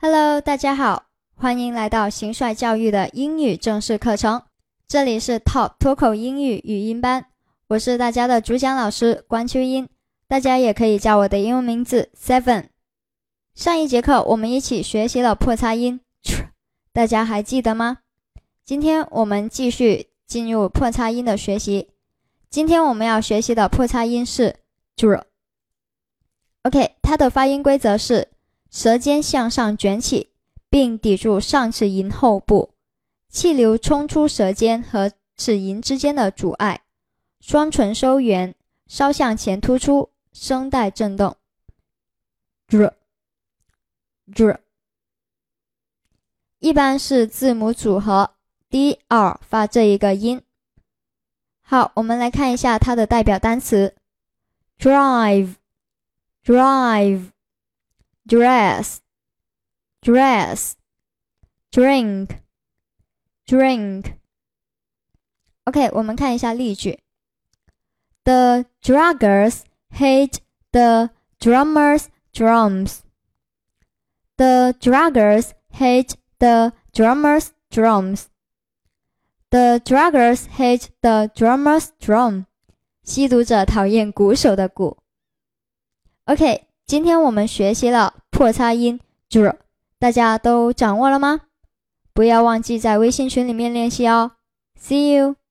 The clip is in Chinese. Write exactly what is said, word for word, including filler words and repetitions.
Hello， 大家好，欢迎来到行帅教育的英语正式课程。这里是 Top 脱口英语语音班，我是大家的主讲老师关秋英，大家也可以叫我的英文名字 Seven。上一节课我们一起学习了破擦音 tr， 大家还记得吗？今天我们继续进入破擦音的学习。今天我们要学习的破擦音是 dr。OK， 它的发音规则是舌尖向上卷起，并抵住上齿龈后部，气流冲出舌尖和齿龈之间的阻碍，双唇收圆，稍向前突出，声带震动。dr dr 一般是字母组合 D R 发这一个音。好，我们来看一下它的代表单词 drive drive dress dress drink drink OK， 我们看一下例句。 The druggers hate the drummer's drums. The druggers hate the drummer's drums. The druggers hate the drummer's drum. 吸毒者讨厌鼓手的鼓。 OK， 今天我们学习了破擦音 dr， 大家都掌握了吗？不要忘记在微信群里面练习哦。See you!